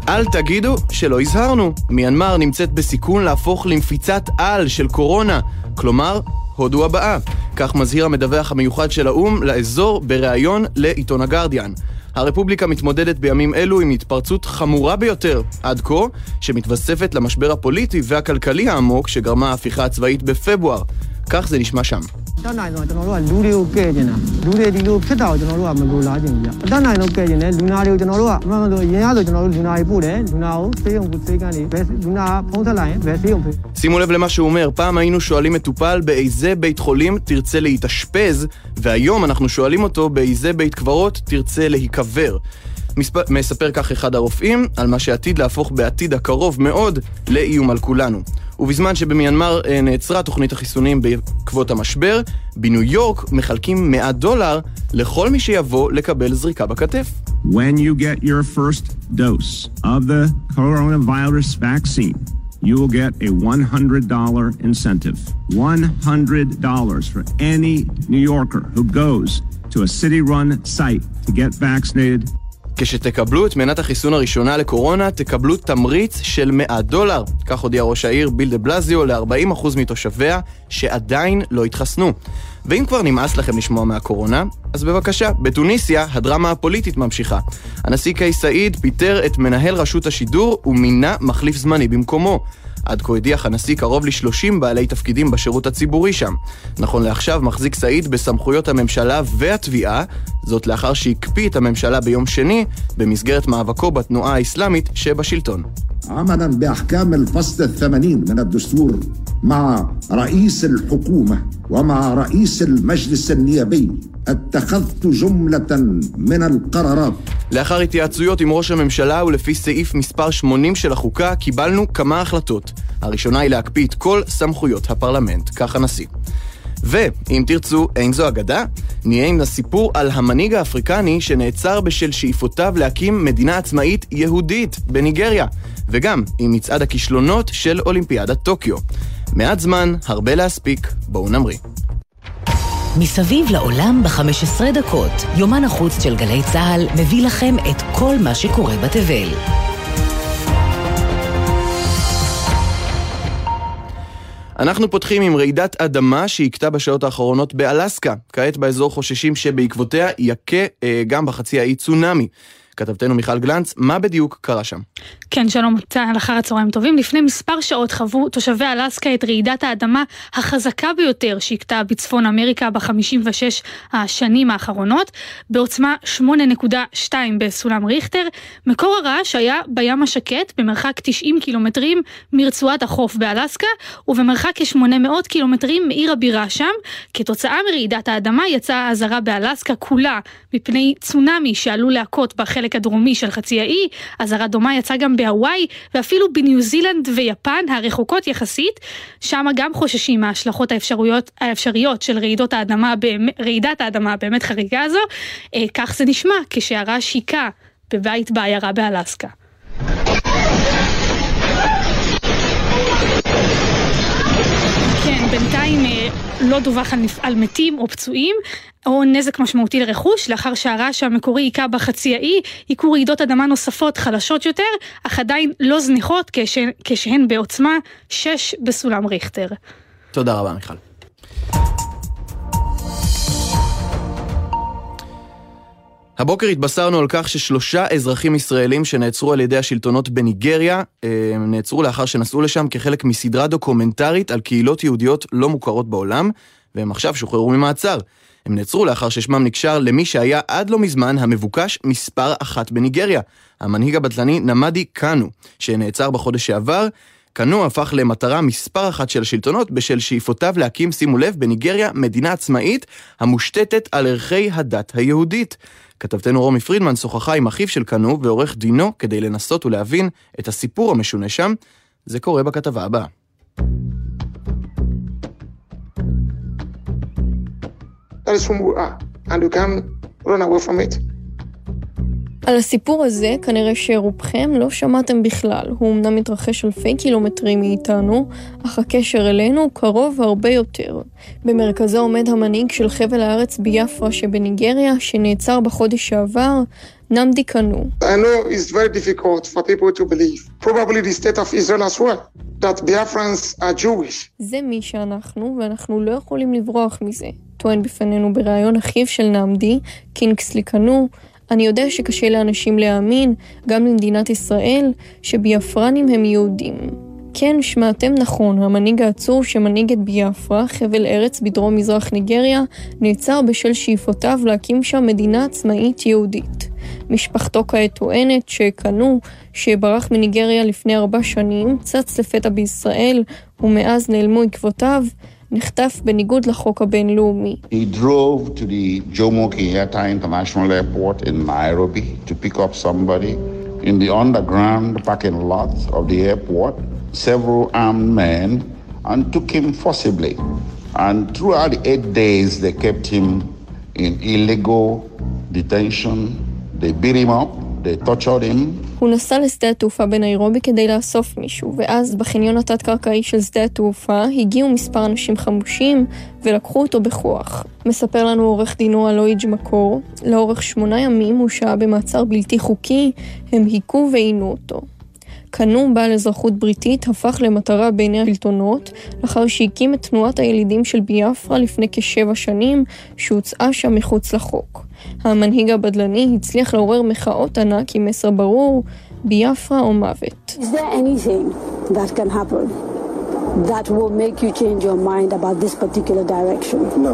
אל תגידו שלא הזהרנו. מיינמר נמצאת בסיכון להפוך למפיצת על של קורונה, כלומר, הודו הבאה. כך מזהיר המדווח המיוחד של האום לאזור בריאיון לעיתון הגרדיאן. הרפובליקה מתמודדת בימים אלו עם התפרצות חמורה ביותר, עד כה, שמתווספת למשבר הפוליטי והכלכלי העמוק שגרמה ההפיכה הצבאית בפברואר. כך זה נשמע שם. שימו לב למה שהוא אומר, פעם היינו שואלים מטופל באיזה בית חולים תרצה להתאשפז, והיום אנחנו שואלים אותו באיזה בית קברות תרצה להיקבר. מספר כך אחד הרופאים על מה שעתיד להפוך בעתיד הקרוב מאוד לאיום על כולנו. ובזמן שבמיינמר נעצרה תוכנית החיסונים בעקבות המשבר, בניו יורק מחלקים $100 לכל מי שיבוא לקבל זריקה בכתף. When you get your first dose of the coronavirus vaccine, you will get a $100 incentive. $100 for any New Yorker who goes to a city-run site to get vaccinated. כשתקבלו את מנת החיסון הראשונה לקורונה, תקבלו תמריץ של $100. כך הודיע ראש העיר ביל דה בלזיו ל-40% מתושביה שעדיין לא התחסנו. ואם כבר נמאס לכם לשמוע מהקורונה, אז בבקשה, בתוניסיה הדרמה הפוליטית ממשיכה. הנשיא קייס סעיד פיטר את מנהל רשות השידור ומינה מחליף זמני במקומו. עד כה הדיח הנשיא קרוב ל-30 בעלי תפקידים בשירות הציבורי שם. נכון לעכשיו מחזיק סעיד בסמכויות הממשלה והתביעה, זאת לאחר שהקפיא את הממשלה ביום שני במסגרת מאבקו בתנועה האסלאמית שבשלטון. عملا بأحكام الفصل 80 من الدستور مع رئيس الحكومة ومع رئيس المجلس النيابي اتخذت جملة من القرارات. לאחר התייעצויות עם ראש הממשלה ולפי סעיף מספר 80 של החוקה קיבלנו כמה החלטות. הראשונה היא להקפיא את כל סמכויות הפרלמנט, כך הנשיא. ואם תרצו, אין זו אגדה, נהיה עם הסיפור על המנהיג האפריקני שנעצר בשל שאיפותיו להקים מדינה עצמאית יהודית בניגריה, וגם עם מצעד הכישלונות של אולימפיאדת טוקיו. מעט זמן, הרבה להספיק, בואו נמריא. מסביב לעולם ב-15 דקות, יומן החוץ של גלי צהל מביא לכם את כל מה שקורה בתבל. אנחנו פותחים עם רעידת אדמה שהקטה בשעות האחרונות באלסקה. כעת באזור חוששים שבעקבותיה יקה גם בחצי האי צונאמי. כתבתנו מיכל גלנץ, מה בדיוק קרה שם? כן, שלום, לאחר הצהריים טובים. לפני מספר שעות חוו תושבי אלסקה את רעידת האדמה החזקה ביותר שהקטה בצפון אמריקה ב-56 השנים האחרונות, בעוצמה 8.2 בסולם ריכטר. מקור הרעש היה בים השקט, במרחק 90 קילומטרים מרצועת החוף באלסקה, ובמרחק כ-800 קילומטרים מעיר הבירה שם. כתוצאה מרעידת האדמה יצאה הזרה באלסקה כולה מפני צונאמי שעלול להכות בחלק הדרומי של חצי האי. הזרה דומה יצאה גם בהוואי, ואפילו בניו זילנד ויפן הרחוקות יחסית. שם גם חוששים מההשלכות האפשריות של רעידת האדמה באמת חריגה הזו. כך זה נשמע כשהרעש היקה בבית בעיירה באלסקה. כן, בינתיים לא דווח על מתים או פצועים או נזק משמעותי לרכוש. לאחר שהרעש המקורי היקה בחצי האי, היקו רעידות אדמה נוספות חלשות יותר, אך עדיין לא זניחות כשהן בעוצמה 6 בסולם ריכטר. תודה רבה מיכל. הבוקר התבשרנו על כך ש3 אזרחים ישראלים שנעצרו על ידי השלטונות בניגריה, נעצרו לאחר שנסעו לשם כחלק מסדרה דוקומנטרית על קהילות יהודיות לא מוכרות בעולם, והם עכשיו שוחררו ממעצר. הם נעצרו לאחר ששמם נקשר למי שהיה עד לא מזמן המבוקש מספר 1 בניגריה, המנהיג הבטלני נמדי קאנו, שנעצר בחודש שעבר. קאנו הפך למטרה מספר 1 של השלטונות בשל שאיפותיו להקים, שימו לב, בניגריה מדינה עצמאית המושתתת על ערכי הדת היהודית. כתבתנו רומי פרידמן שוחחה עם אחיו של קאנו ועורך דינו כדי לנסות ולהבין את הסיפור המשונה שם. זה קורה בכתבה הבאה. That is whom we are, and you can't run away from it. על הסיפור הזה כנראה שרובכם לא שמעתם בכלל. הוא אמנם מתרחש אלפי קילומטרים מאיתנו, אך הקשר אלינו קרוב הרבה יותר. במרכזו עומד המנהיג של חבל הארץ ביאפרה שבניגריה, שנעצר בחודש שעבר, נמדי קנו. I know it's very difficult for people to believe, probably the state of Israel as well, that Biafrans are Jewish. זה מי שאנחנו, ואנחנו לא יכולים לברוח מזה. טוען בפנינו בראיון אחיו של נמדי, קינגסלי קנו, אני יודע שקשה לאנשים להאמין, גם למדינת ישראל, שביאפרנים הם יהודים. כן, שמעתם נכון, המנהיג העצור שמנהיג את ביאפרה, חבל ארץ בדרום מזרח ניגריה, נעצר בשל שאיפותיו להקים שם מדינה עצמאית יהודית. משפחתו כעת טוענת שקנו, שברח מניגריה לפני 4 שנים, צץ לפתע בישראל, ומאז נעלמו עקבותיו, נחטף בניגוד לחוק הבינלאומי. He drove to the Jomo Kenyatta International Airport in Nairobi to pick up somebody. In the underground parking lot of the airport, several armed men and took him forcibly. And throughout the 8 days, they kept him in illegal detention. They beat him up, they tortured him. הוא נסע לשדה התעופה בניירובי כדי לאסוף מישהו, ואז בחניון התת-קרקעי של שדה התעופה הגיעו מספר אנשים חמושים ולקחו אותו בכוח. מספר לנו עורך דינו אלוהיג' מקור, לאורך 8 ימים הוא שהה במעצר בלתי חוקי, הם היכו ועינו אותו. קנו, בעל אזרחות בריטית, הפך למטרה בעיני השלטונות, לאחר שהקים את תנועת הילידים של ביאפרה לפני כ7 שנים, שהוצאה שם מחוץ לחוק. המנהיג הבדלני הצליח לעורר מחאות ענק עם מסר ברור, ביאפרה או מוות. Is there anything that can happen that will make you change your mind about this particular direction? No.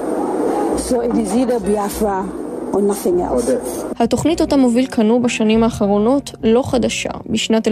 So it is either Biafra or nothing else. התוכנית אותה מוביל קנו בשנים האחרונות לא חדשה. בשנת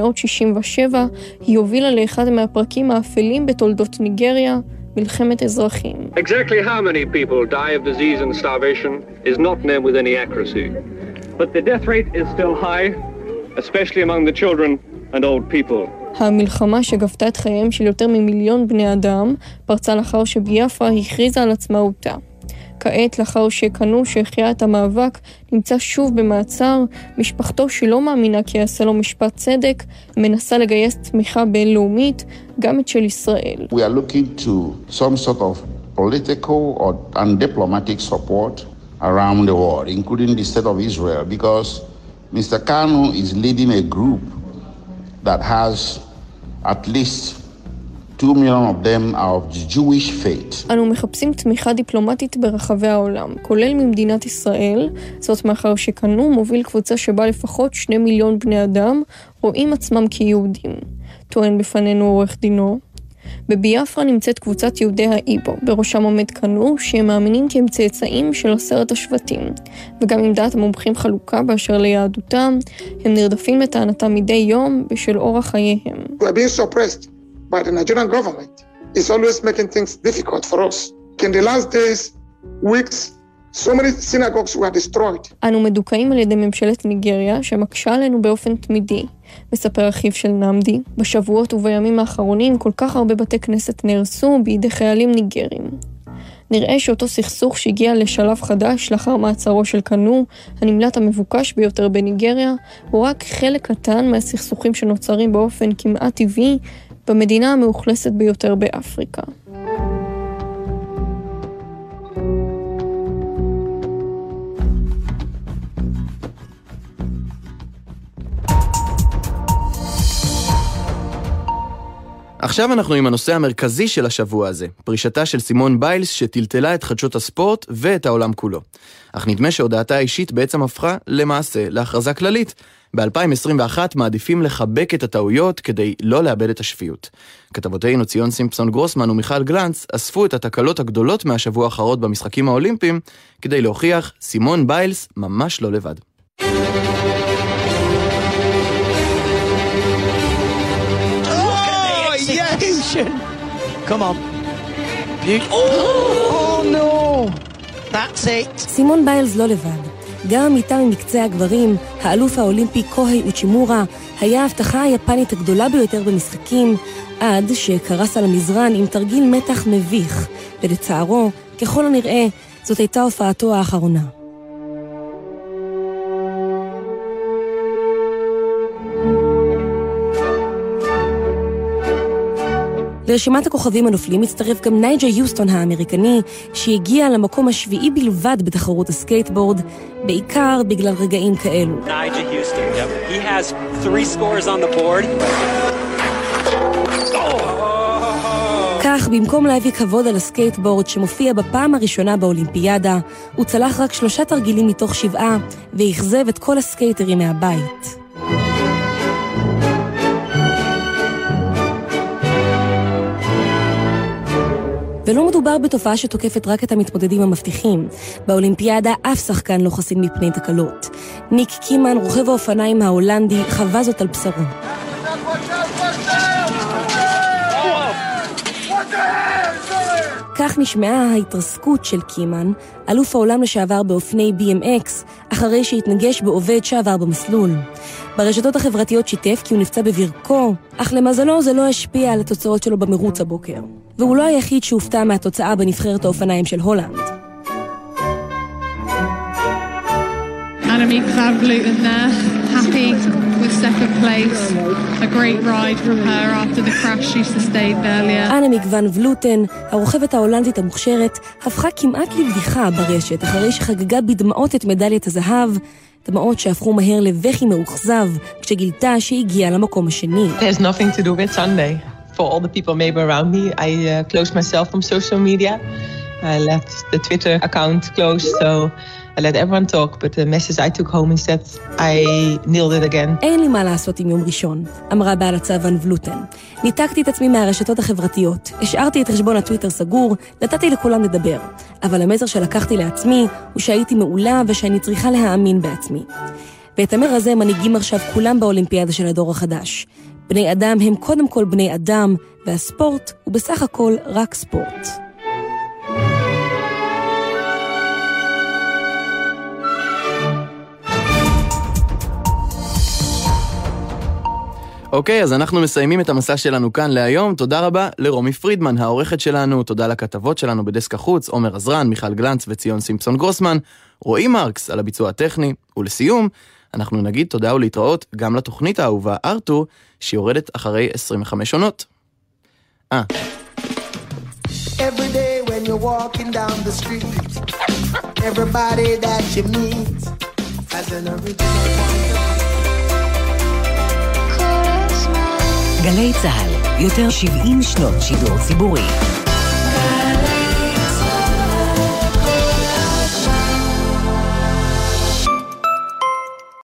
1967 היא הובילה לאחד מהפרקים האפלים בתולדות ניגריה, מלחמת אזרחים. Exactly how many people die of disease and starvation is not known with any accuracy. But the death rate is still high, especially among the children and old people. המלחמה שגבתה את חייהם של יותר מ1,000,000 בני אדם פרצה לאחר שביאפרה הכריזה על עצמאותה. כעת, לאחר שקנו שהחיה את המאבק, נמצא שוב במעצר. משפחתו שלא מאמינה כי יעשה לו משפט צדק, מנסה לגייס תמיכה בינלאומית, גם את של ישראל. We are looking to some sort of political and diplomatic support around the world, including the state of Israel, because Mr. Kanu is leading a group that has at least 2 million of them are of the Jewish faith. אנו מחפשים תמיכה דיפלומטית ברחבי העולם, כולל ממדינת ישראל, זאת מאחר שקנו מוביל קבוצה שבה לפחות 2 מיליון בני אדם רואים עצמם כיהודים. טוען בפנינו עורך דינו. בביאפרה נמצאת קבוצת יהודי האיבו, בראשם עומד קנו, שהם מאמינים כי הם צאצאים של 10 השבטים, וגם עם דעת המומחים חלוקה באשר ליהדותם, הם נרדפים לטענתם מדי יום בשל אורח חייהם. We are being suppressed by the Nigerian government. It's always making things difficult for us. In the last days, weeks, so many synagogues were destroyed. אנו מדוכאים על ידי ממשלת ניגריה שמקשה עלינו באופן תמידי. מספר אחיו של נמדי, בשבועות ובימים האחרונים כל כך הרבה בתי כנסת נהרסו בידי חיילים ניגרים. נראה שאותו סכסוך שהגיע לשלב חדש לאחר מעצרו של קנו, הנמלט המבוקש ביותר בניגריה, הוא רק חלק קטן מהסכסוכים שנוצרים באופן כמעט טבעי במדינה המאוכלסת ביותר באפריקה. עכשיו אנחנו עם הנושא המרכזי של השבוע הזה, פרישתה של סימון ביילס שטלטלה את חדשות הספורט ואת העולם כולו. אך נדמה שהודעתה האישית בעצם הפכה למעשה להכרזה כללית. ב-2021 מעדיפים לחבק את הטעויות כדי לא לאבד את השפיות. כתבותינו ציון סימפסון גרוסמן ומיכל גלנץ אספו את התקלות הגדולות מהשבוע האחרון במשחקים האולימפיים כדי להוכיח סימון ביילס ממש לא לבד. Come on. Oh no. That's it. סימון ביילס לא לבד. גם איתה ממקצה הגברים, האלוף האולימפי קוהי אוצ'ימורה, היה ההבטחה היפנית הגדולה ביותר במשחקים, עד שקרס על המזרן עם תרגיל מתח מביך, ולצערו, ככל הנראה, זאת הייתה הופעתו האחרונה. לרשימת הכוכבים הנופלים מצטרף גם נייג'ה יוסטון האמריקני, שהגיע למקום השביעי בלבד בתחרות הסקייטבורד, בעיקר בגלל רגעים כאלו. Elijah Houston, yep. He has 3 scores on the board. כך, במקום להביא כבוד על הסקייטבורד שמופיע בפעם הראשונה באולימפיאדה, הוא צלח רק 3 תרגילים מתוך 7 והחזב את כל הסקייטרים מהבית. ולא מדובר בתופעה שתוקפת רק את המתמודדים המבטיחים. באולימפיאדה אף שחקן לא חסין מפני תקלות. ניק קימן, רוכב האופניים ההולנדי, חווה זאת על בשרו. כך נשמעה ההתרסקות של קימן, אלוף העולם לשעבר באופני BMX, אחרי שהתנגש בעובד שעבר במסלול. ברשתות החברתיות שיתף כי הוא נפצע בברכו, אך למזלו זה לא השפיע על התוצאות שלו במרוץ הבוקר. והוא לא היחיד שהופתע מהתוצאה בנבחרת האופניים של הולנד. Annemiek van Vleuten there, happy with second place. A great ride from her after the crash she sustained earlier. אנמיק ון ולוטן, הרוכבת ההולנדית המוכשרת, הפכה כמעט לבדיחה ברשת, אחרי שחגגה בדמעות את מדליית הזהב, דמעות שהפכו מהר לבכי מאוכזב, כשגילתה שהגיעה למקום השני. There's nothing to do with Sunday. For all the people maybe around me, I closed myself from social media. I left the Twitter account closed, so I let everyone talk, but the message I took home instead, I nailed it again. אין לי מה לעשות עם יום ראשון, אמרה בעלת ון ולוטן. ניתקתי את עצמי מהרשתות החברתיות, השארתי את חשבון הטוויטר סגור, נתתי לכולם לדבר. אבל המסר שלקחתי לעצמי הוא שהייתי מעולה ושאני צריכה להאמין בעצמי. ואת המר הזה מנהיגים עכשיו כולם באולימפיאדה של הדור החדש. בני אדם הם קודם כל בני אדם, והספורט הוא בסך הכל רק ספורט. אוקיי, אז אנחנו מסיימים את המסע שלנו כאן להיום. תודה רבה לרומי פרידמן, העורכת שלנו, תודה לכתבות שלנו בדסק החוץ, עומר עזרן, מיכל גלנץ וציון סימפסון גרוסמן, רועי מרקס על הביצוע הטכני, ולסיום, אנחנו נגיד תודה ולהתראות גם לתוכנית האהובה ארתור, שיורדת אחרי 25 עונות. Every day when you're walking down the street, everybody that you meet has an original point. גלי צהל, יותר 70 שנות שידור ציבורי.